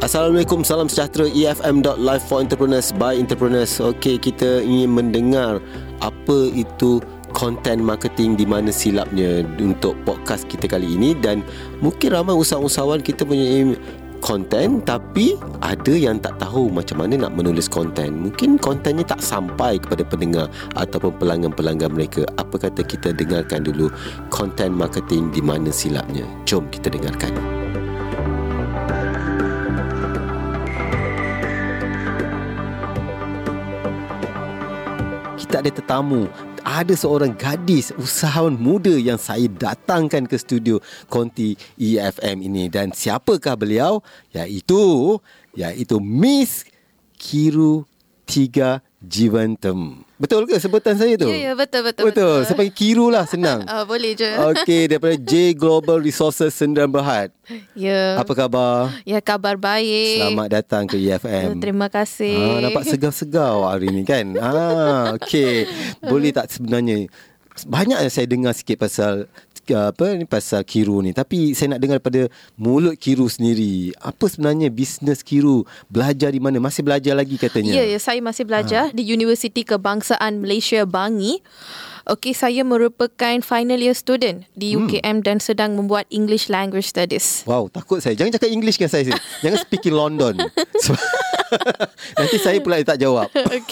Assalamualaikum, salam sejahtera. EFM.live for entrepreneurs by entrepreneurs. Okey, kita ingin mendengar apa itu content marketing, di mana silapnya untuk podcast kita kali ini. Dan mungkin ramai usahawan kita punya konten, tapi ada yang tak tahu macam mana nak menulis konten. Mungkin kontennya tak sampai kepada pendengar ataupun pelanggan-pelanggan mereka. Apa kata kita dengarkan dulu content marketing, di mana silapnya. Jom kita dengarkan. Kita ada tetamu. Ada seorang gadis usahawan muda yang saya datangkan ke studio Konti EFM ini. Dan siapakah beliau? Iaitu Miss Kiru Tiga Jiwantam. Betul ke sebutan saya tu? Ya, betul. Saya panggil Kiru lah, senang. Boleh je. Okey, daripada J Global Resources Sendirian Berhad. Ya. Apa khabar? Ya, kabar baik. Selamat datang ke EFM. Terima kasih. Nampak segar-segar hari ni kan? Okey. Boleh tak sebenarnya, banyak yang saya dengar sikit pasal pasal Kiru ni, tapi saya nak dengar daripada mulut Kiru sendiri. Apa sebenarnya bisnes Kiru? Belajar di mana? Masih belajar lagi katanya. Ya, saya masih belajar di Universiti Kebangsaan Malaysia Bangi. Okey, saya merupakan final year student di UKM dan sedang membuat English Language Studies. Wow, takut saya. Jangan cakap English dengan saya. Jangan speaking London. Nanti saya pula tak jawab.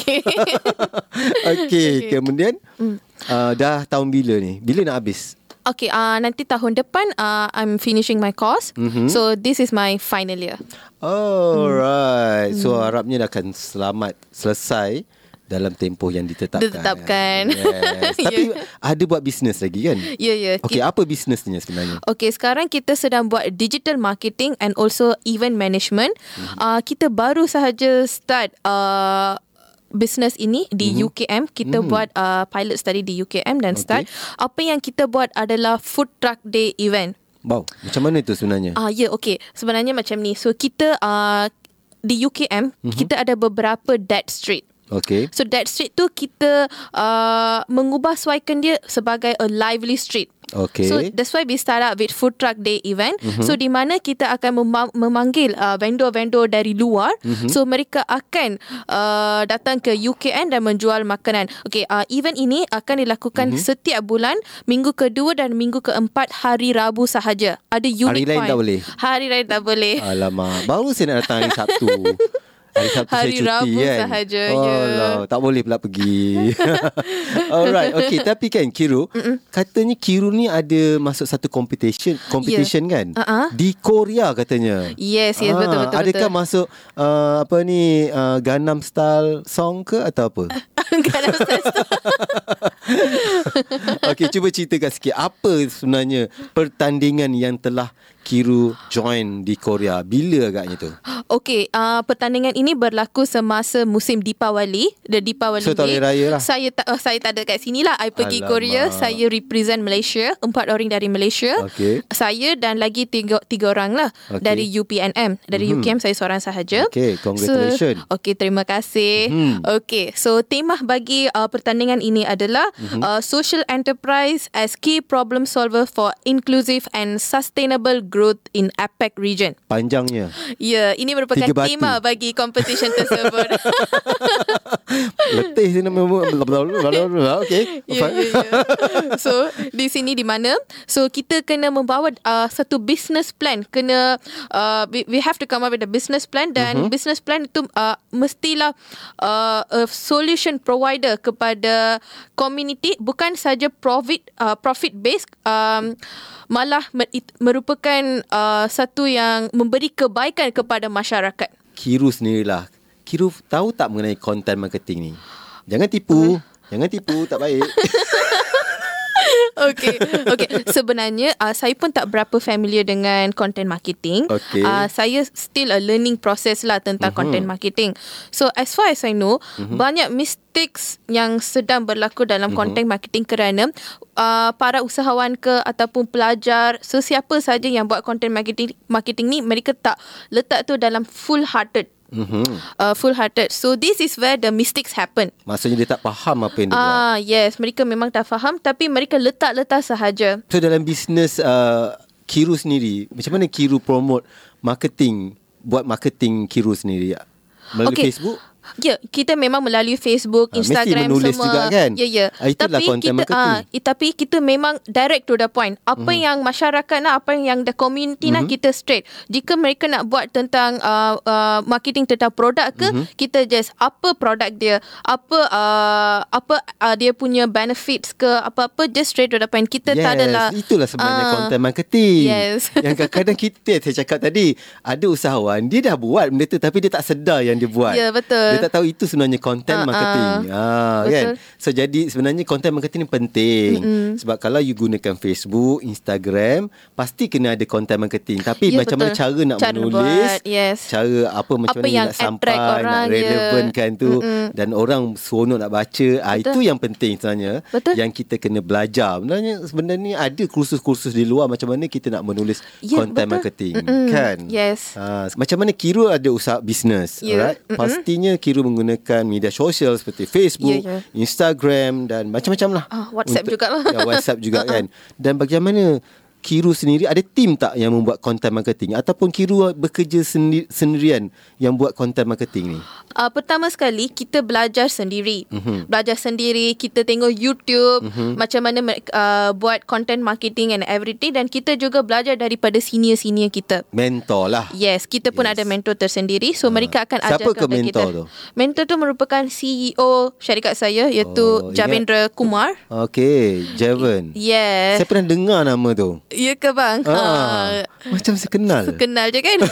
Okey, kemudian dah tahun bila ni? Bila nak habis? Okay, nanti tahun depan I'm finishing my course. So this is my final year. Alright. So harapnya dah akan selesai dalam tempoh yang ditetapkan. Yes. Tapi ada buat bisnes lagi kan? Ya. Okay, apa bisnesnya sebenarnya? Okay, sekarang kita sedang buat digital marketing and also event management. Kita baru sahaja start business ini di UKM. Kita buat pilot study di UKM dan start. Apa yang kita buat adalah food truck day event. Wow, macam mana tu sebenarnya? Okay. Sebenarnya macam ni. So kita di UKM kita ada beberapa dead street. Okay. So that street tu kita mengubah suaikan dia sebagai a lively street. Okay. So that's why we start up with food truck day event. So di mana kita akan memanggil vendor-vendor dari luar. So mereka akan datang ke UKM dan menjual makanan. Okay, event ini akan dilakukan setiap bulan, minggu kedua dan minggu keempat hari Rabu sahaja. Ada unique hari lain point. tak boleh? Hari lain tak boleh. Alamak, baru saya nak datang hari Sabtu. Hari Sabtu hari saya cuti Rabu kan? sahaja. Tak boleh pula pergi. Alright, okay. Tapi kan Kiru, katanya Kiru ni ada masuk satu competition kan? Di Korea katanya. Yes, betul. Adakah masuk Gangnam Style song ke atau apa? Gangnam Style. Okay, cuba ceritakan sikit apa sebenarnya pertandingan yang telah Kiru join di Korea. Bila agaknya tu? Okay, pertandingan ini berlaku semasa musim Deepawali. The Deepawali so, Day. Raya lah. Saya tak ada kat sini lah. I pergi Korea. Saya represent Malaysia. 4 orang dari Malaysia. Okay. Saya dan lagi 3 orang lah. Dari UPNM. Dari UKM saya seorang sahaja. Okay, congratulations. Okay, terima kasih. Okay, so tema bagi pertandingan ini adalah social enterprise as key problem solver for inclusive and sustainable growth in APEC region. Panjangnya. Ya, ini merupakan tema bagi competition tersebut. Letih sini okay. Ya. So di sini di mana kita kena membawa satu business plan. We have to come up with a business plan. Dan business plan itu mestilah a solution provider kepada community, bukan saja profit based, malah merupakan satu yang memberi kebaikan kepada masyarakat. Kiru sendirilah. Kiru tahu tak mengenai content marketing ni? Jangan tipu. Tak baik. Okay. Sebenarnya saya pun tak berapa familiar dengan content marketing. Saya still a learning process lah tentang content marketing. So as far as I know, banyak mistakes yang sedang berlaku dalam content marketing kerana para usahawan ke ataupun pelajar, sesiapa saja yang buat content marketing ni, mereka tak letak tu dalam full-hearted. So this is where the mistakes happen. Maksudnya dia tak faham apa yang dia buat. Yes, mereka memang tak faham, tapi mereka letak sahaja. So dalam bisnes Kiru sendiri, macam mana Kiru promote marketing buat marketing Kiru sendiri? Melalui Facebook? Ya, kita memang melalui Facebook, Instagram, mesti menulis semua. juga kan? Ya. Itulah content marketing. Tapi kita memang direct to the point. Apa yang masyarakat nak, apa yang the community nak, kita straight. Jika mereka nak buat tentang marketing tentang produk ke, kita just apa produk dia, apa dia punya benefits ke, apa-apa, just straight to the point. Kita tak adalah. Itulah sebenarnya content marketing. Yes. Yang kadang-kadang saya cakap tadi, ada usahawan dia dah buat benda tu tapi dia tak sedar yang dia buat. Ya, betul. Dia tak tahu itu sebenarnya content marketing. Kan? So jadi sebenarnya content marketing ni penting. Sebab kalau you gunakan Facebook, Instagram, pasti kena ada content marketing. Tapi macam mana cara nak menulis, cara macam mana yang nak sampai, nak relevankan tu, dan orang seronok nak baca. Itu yang penting sebenarnya. Yang kita kena belajar. Sebenarnya ada kursus-kursus di luar macam mana kita nak menulis content marketing. Kan? Yes. Macam mana Kiru ada usaha bisnes, alright? Pastinya Kiru menggunakan media sosial seperti Facebook, Instagram dan macam-macam lah. WhatsApp jugalah. WhatsApp juga kan. Dan bagaimana Kiru sendiri, ada tim tak yang membuat content marketing, ataupun Kiru bekerja sendirian yang buat content marketing ni? Pertama sekali kita belajar sendiri. Belajar sendiri, kita tengok YouTube macam mana buat content marketing and everything, dan kita juga belajar daripada senior-senior kita. Mentor lah. Yes, kita pun ada mentor tersendiri. So mereka akan ajarkan siapa ke mentor kita. tu? Mentor tu merupakan CEO syarikat saya, iaitu Javendra Kumar. Okay, Javen. Yes. Saya pernah dengar nama tu. Ya ke bang? Macam saya kenal. Kenal je kan?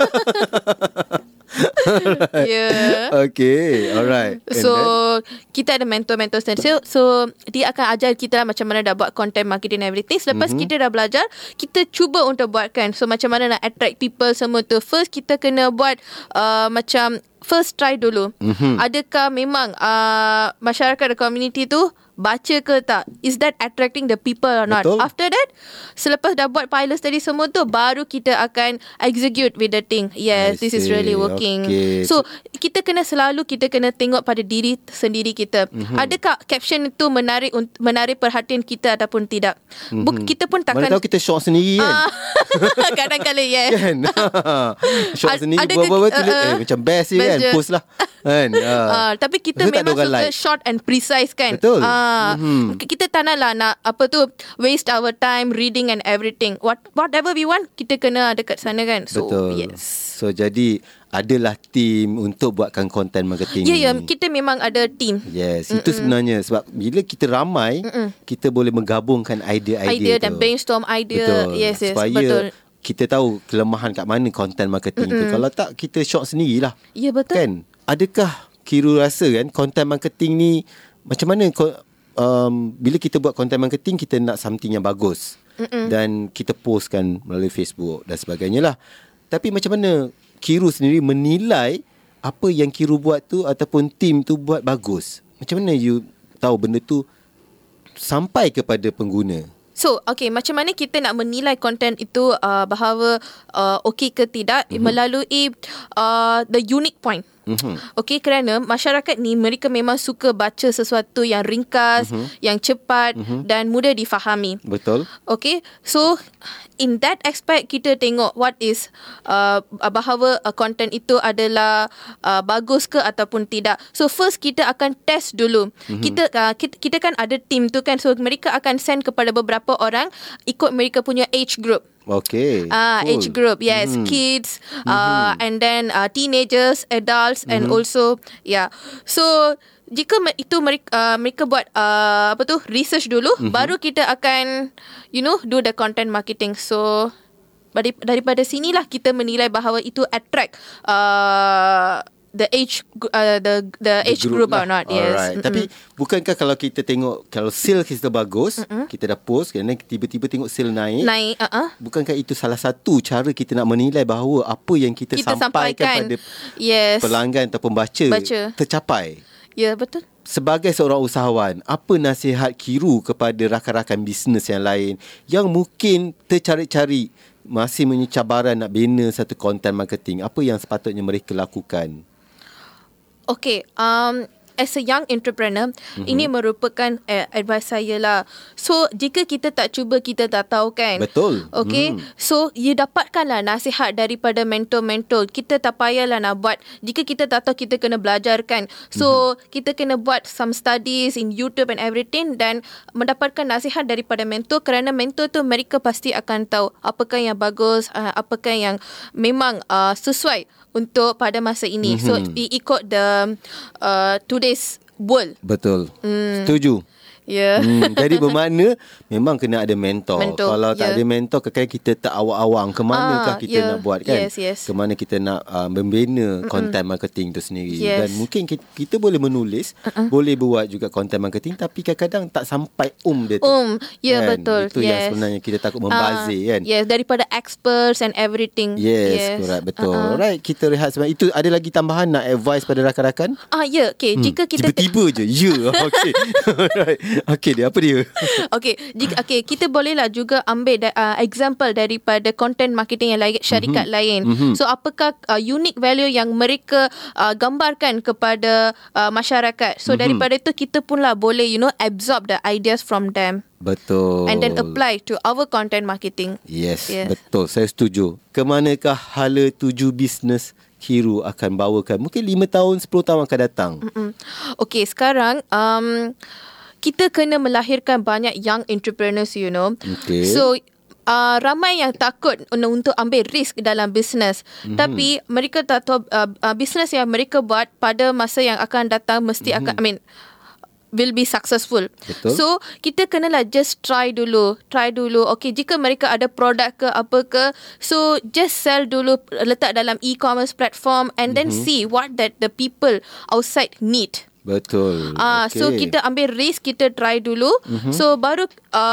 Okay, alright. So kita ada mentor-mentor sendiri. So dia akan ajar kita lah macam mana dah buat content marketing and everything. Selepas kita dah belajar, kita cuba untuk buatkan. So macam mana nak attract people semua tu. First kita kena buat macam first try dulu. Adakah memang masyarakat the community tu baca ke tak? Is that attracting the people or not? Betul. After that, selepas dah buat pilot tadi semua tu, baru kita akan execute with the thing. Yes, this is really working. Okay. So kita kena tengok pada diri sendiri kita. Adakah caption itu menarik perhatian kita ataupun tidak? Kita pun takkan. Mana tahu kita short sendiri kan? Kadang-kadang yes. Kan? Short sendiri buat-buat tulis macam best je kan? Post lah kan? Tapi kita memang suka short and precise kan? Betul. Kita tak naklah waste our time reading and everything. Whatever we want, kita kena dekat sana kan? So, betul. Yes. So jadi adalah team untuk buatkan content marketing ni. Kita memang ada team. Yes, itu sebenarnya sebab bila kita ramai, kita boleh menggabungkan idea-idea dan brainstorm idea. Betul. Yes, supaya betul. Kita tahu kelemahan kat mana content marketing tu. Kalau tak, kita short sendirilah. Ya, betul. Kan? Adakah Kiru rasa kan content marketing ni macam mana bila kita buat content marketing, kita nak something yang bagus dan kita postkan melalui Facebook dan sebagainya lah. Tapi macam mana Kiru sendiri menilai apa yang Kiru buat tu ataupun team tu buat bagus? Macam mana you tahu benda tu sampai kepada pengguna? So, macam mana kita nak menilai konten itu bahawa okey ke tidak melalui the unique point. Kerana masyarakat ni mereka memang suka baca sesuatu yang ringkas, yang cepat dan mudah difahami. Betul. So in that aspect kita tengok what is bahawa content itu adalah bagus ke ataupun tidak. So first kita akan test dulu. Kita kan ada team tu kan, so mereka akan send kepada beberapa orang ikut mereka punya age group. Okay. Age group, yes, kids, and then teenagers, adults, and also, So jika itu mereka buat research dulu, baru kita akan do the content marketing. So daripada sinilah kita menilai bahawa itu attract the age group or not. Yes. Alright. Tapi bukankah kalau kita tengok, kalau sale kita bagus, kita dah post, dan tiba-tiba tengok sale naik, bukankah itu salah satu cara kita nak menilai bahawa apa yang kita sampaikan pada pelanggan atau pembaca tercapai? Ya, betul. Sebagai seorang usahawan, apa nasihat Kiru kepada rakan-rakan bisnes yang lain yang mungkin tercari-cari, masih punya cabaran nak bina satu content marketing? Apa yang sepatutnya mereka lakukan? as a young entrepreneur, ini merupakan advice saya lah. So jika kita tak cuba, kita tak tahu kan. Betul. Okay. So you dapatkanlah nasihat daripada mentor-mentor. Kita tak payahlah nak buat. Jika kita tak tahu, kita kena belajar kan. So kita kena buat some studies in YouTube and everything, dan mendapatkan nasihat daripada mentor, kerana mentor tu mereka pasti akan tahu apakah yang bagus, apakah yang memang sesuai untuk pada masa ini. So ikut the today's world. Betul. Setuju. Ya. Jadi bermakna memang kena ada mentor. Kalau tak ada mentor, kadang kita tak awang-awang ke manakah kita nak buat kan. Yes. Ke mana kita nak membina content marketing tu sendiri. Dan mungkin kita boleh menulis, boleh buat juga content marketing, tapi kadang-kadang tak sampai dia tu. Ya, kan? betul. Itu yang sebenarnya kita takut membazir kan. Yes, daripada experts and everything. Yes. Correct, betul. Alright, kita rehat sebentar. Itu ada lagi tambahan nak advice pada rakan-rakan? Ya, okay. Jika kita tiba-tiba je. Okay. Alright. Okay, dia apa dia? Okay, kita bolehlah juga ambil example daripada content marketing yang lain, syarikat lain. So apakah unique value yang mereka gambarkan kepada masyarakat. So daripada itu kita pun lah boleh absorb the ideas from them. Betul. And then apply to our content marketing. Yes. Betul. Saya setuju. Kemanakah hala tuju bisnes Kiru akan bawakan? Mungkin 5 tahun, 10 tahun akan datang. Okay, sekarang kita kena melahirkan banyak young entrepreneurs, Okay. So ramai yang takut untuk ambil risk dalam bisnes. Tapi mereka tak tahu bisnes yang mereka buat pada masa yang akan datang mesti akan will be successful. Betul. So kita kenalah just try dulu. Okay, jika mereka ada produk ke apa ke, so just sell dulu, letak dalam e-commerce platform, and then see what that the people outside need. Betul. Okay. So kita ambil risk, kita try dulu. So baru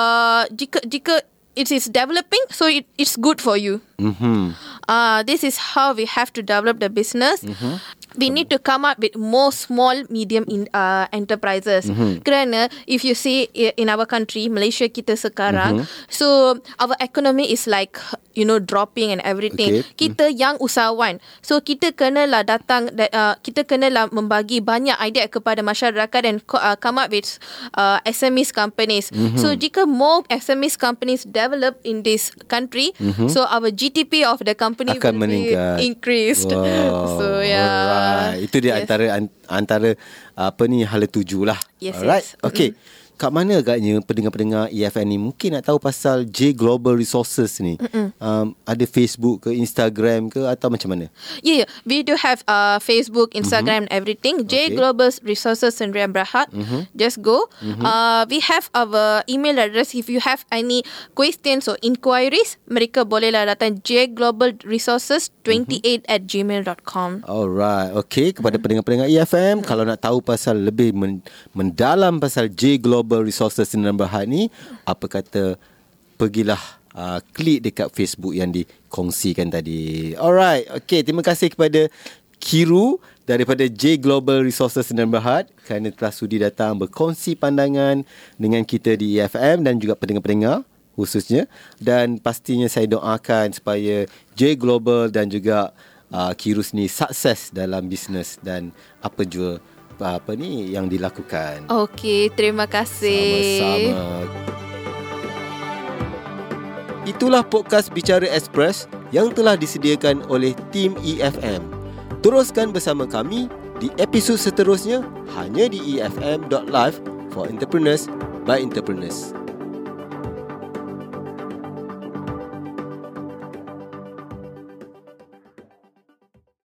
jika it is developing, so it's good for you. This is how we have to develop the business. We need to come up with more small, medium enterprises. Kerana if you see in our country, Malaysia kita sekarang, so our economy is like dropping and everything. Kita yang usahawan, so kita kenalah datang, kita kenalah membagi banyak idea kepada masyarakat dan come up with SMEs companies. So jika more SMEs companies develop in this country, so our GDP of the company akan will meningkat. be increased. Wow. So yeah. Alright. Itu dia antara hala tuju lah. Yes. Alright. Okay. Kat mana agaknya pendengar-pendengar EFM ni mungkin nak tahu pasal J Global Resources ni? Ada Facebook ke, Instagram ke, atau macam mana? Yeah. We do have Facebook, Instagram, and everything. J Global Resources Sdn Bhd. Just go. We have our email address. If you have any questions or inquiries, mereka bolehlah datang jglobalresources28@gmail.com. Alright. Okay. Kepada pendengar-pendengar EFM, kalau nak tahu pasal lebih mendalam pasal J Global Resources Sdn Bhd ni, apa kata pergilah klik dekat Facebook yang dikongsikan tadi. Alright. Okay, terima kasih kepada Kiru daripada J Global Resources Sdn Bhd kerana telah sudi datang berkongsi pandangan dengan kita di EFM dan juga pendengar-pendengar khususnya. Dan pastinya saya doakan supaya J Global dan juga Kiru ni sukses dalam bisnes dan apa jua yang dilakukan. Okey, terima kasih. Sama-sama. Itulah podcast Bicara Express yang telah disediakan oleh tim EFM. Teruskan bersama kami di episod seterusnya hanya di efm.live for entrepreneurs by entrepreneurs.